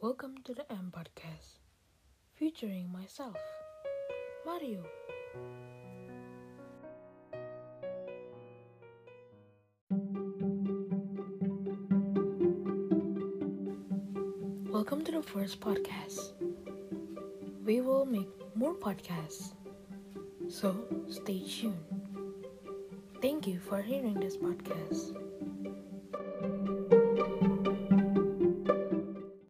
Welcome to the M Podcast, featuring myself, Mario. Welcome to the first podcast. We will make more podcasts, so stay tuned. Thank you for hearing this podcast.